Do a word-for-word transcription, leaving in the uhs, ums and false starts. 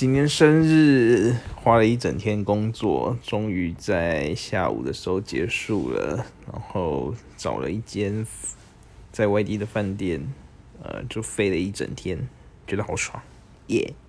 今天生日，花了一整天工作，终于在下午的时候结束了。然后找了一间在外地的饭店，呃，就飞了一整天，觉得好爽，耶、yeah